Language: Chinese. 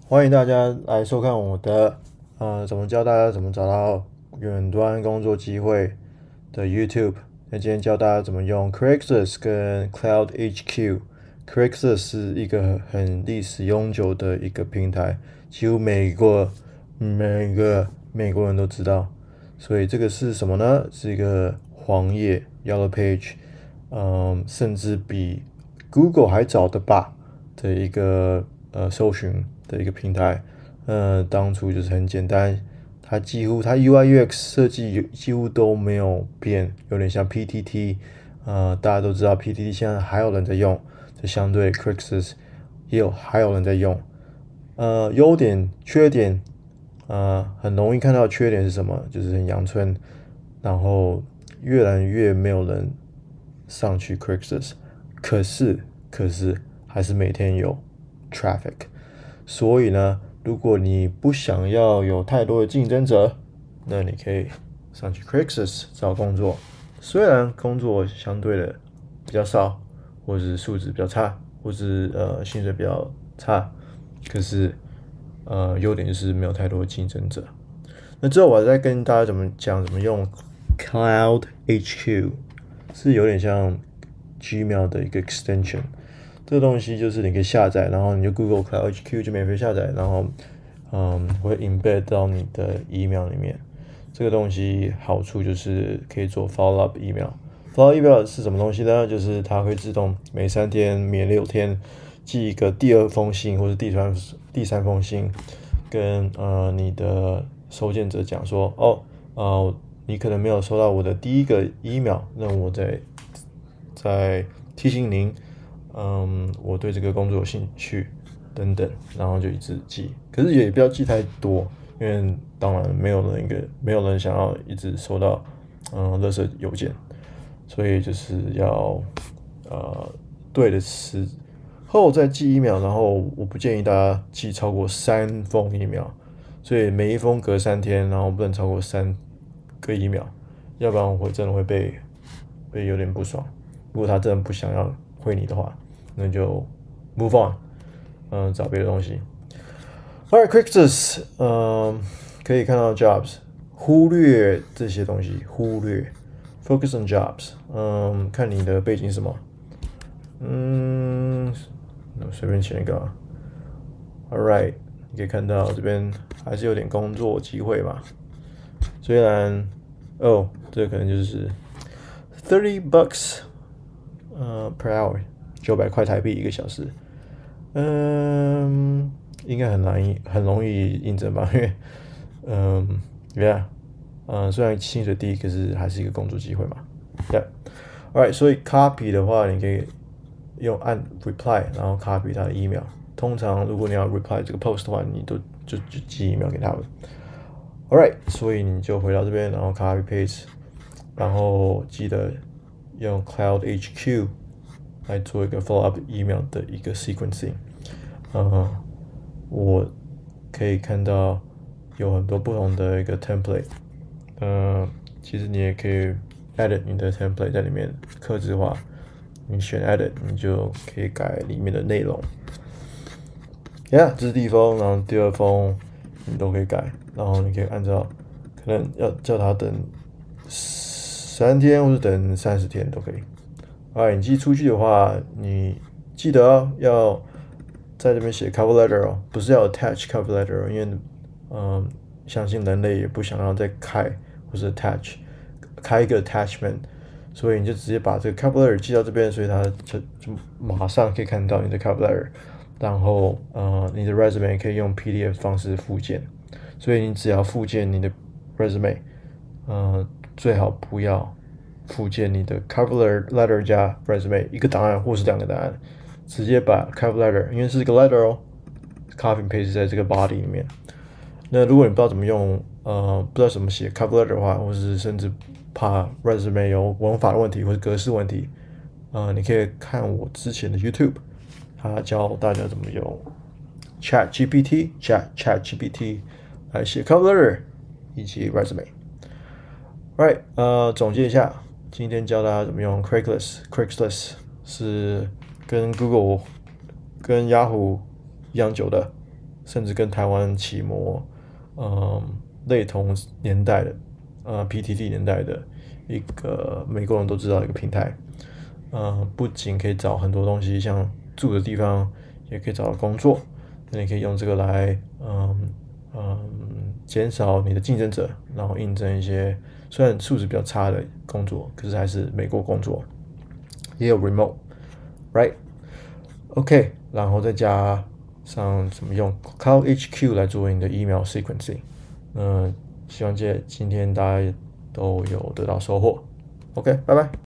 歡迎大家來收看我的怎麼教大家怎麼找到遠端工作機會的 YouTube。那今天教大家怎麼用 Craigslist 跟 CloudHQ。Craigslist 是一個很歷史悠久的一個平台，幾乎每個美國人都知道。所以這個是什麼呢？是一個黃頁 Yellow Page，甚至比 Google 還早的吧的一個搜尋的一個平台。當初就是很簡單，它UI UX 設計幾乎都沒有變，有點像 PTT。大家都知道 PTT 現在還有人在用，這相對 Craigslist 還有人在用。優點缺點，很容易看到缺點是什麼，就是很陽春，然後越來越沒有人上去 Craigslist， 可是還是每天有 traffic。所以呢，如果你不想要有太多的競爭者，那你可以上去 Craigslist 找工作。雖然工作相對的比較少，或是素質比較差，或是薪水比較差，可是優點就是沒有太多的競爭者。那之後我再跟大家怎麼用 CloudHQ， 是有點像 Gmail 的一個 extension。這個東西就是你可以下載，然後你就 Google CloudHQ 就免費下載，然後會 embed 到你的 email 裡面。這個東西好處就是可以做 follow up email。follow up email 是什麼東西呢？就是它會自動每3天、每6天寄一個第2封信或者第三封信，跟你的收件者講說，你可能沒有收到我的第一個 email， 那我再提醒您，我對這個工作有興趣等等，然後就一直寄。可是也不要寄太多，因為當然沒有人想要一直收到垃圾郵件，所以就是要對的時候再寄email，然後我不建議大家寄超過3封email，所以每一封隔3天，然後不能超過3個email，要不然我真的會被有點不爽。如果他真的不想要回你的話，那就 move on， 找別的東西。Alright, Craigslist， 可以看到 jobs， 忽略這些東西，focus on jobs， 看你的背景是什麼，隨便選一個。Alright， 你可以看到這邊還是有點工作機會嘛，雖然這個可能就是$30 per hour， 900塊台幣1個小時，應該很容易應徵吧，因為雖然薪水低，可是還是一個工作機會嘛。Alright， 所以 copy 的話，你可以按 reply， 然後 copy 他的 email。通常如果你要 reply 這個 post 的話，你就寄 email 給他們。Alright， 所以你就回到這邊，然後 copy paste， 然後記得用 CloudHQ 來做一個 follow up email 的一個 sequencing。我可以看到有很多不同的一個 template。其實你也可以 edit 你的 template 在裡面客製化，你選 edit， 你就可以改裡面的內容。這是第1封，然後第2封你都可以改，然後你可以按照可能要叫他等3天或者等30天都可以。你寄出去的話，你記得要在這邊寫 cover letter 不是要 attach cover letter， 因為相信人類也不想要再開或是開一個 attachment， 所以你就直接把這個 cover letter 寄到這邊，所以他就馬上可以看到你的 cover letter， 然後你的 resume 可以用 PDF 方式附件，所以你只要附件你的 resume， 最好不要附件你的 cover letter 加 resume 一個檔案或是2個檔案，直接把 cover letter， 因為是一個 letter copy paste 在這個 body 裡面。那如果你不知道怎麼用，不知道怎麼寫 cover letter 的話，或是甚至怕 resume 有文法的問題或者格式問題，你可以看我之前的 YouTube， 他教大家怎麼用 ChatGPT 來寫 cover letter 以及 resume。Right， 總結一下，今天教大家怎麼用 Craigslist 是跟 Google 跟 Yahoo 一樣久的甚至跟台灣奇摩類同年代的PTT 年代的一個美國人都知道的一個平台。不僅可以找很多東西，像住的地方也可以找到工作，那你可以用這個來減少你的競爭者，然後應徵一些雖然素質比較差的工作，可是還是美國工作，也有 remote，right？ OK， 然後再加上怎麼用 Cloud HQ 來做你的 email sequencing。希望今天大家都有得到收穫。OK， 拜拜。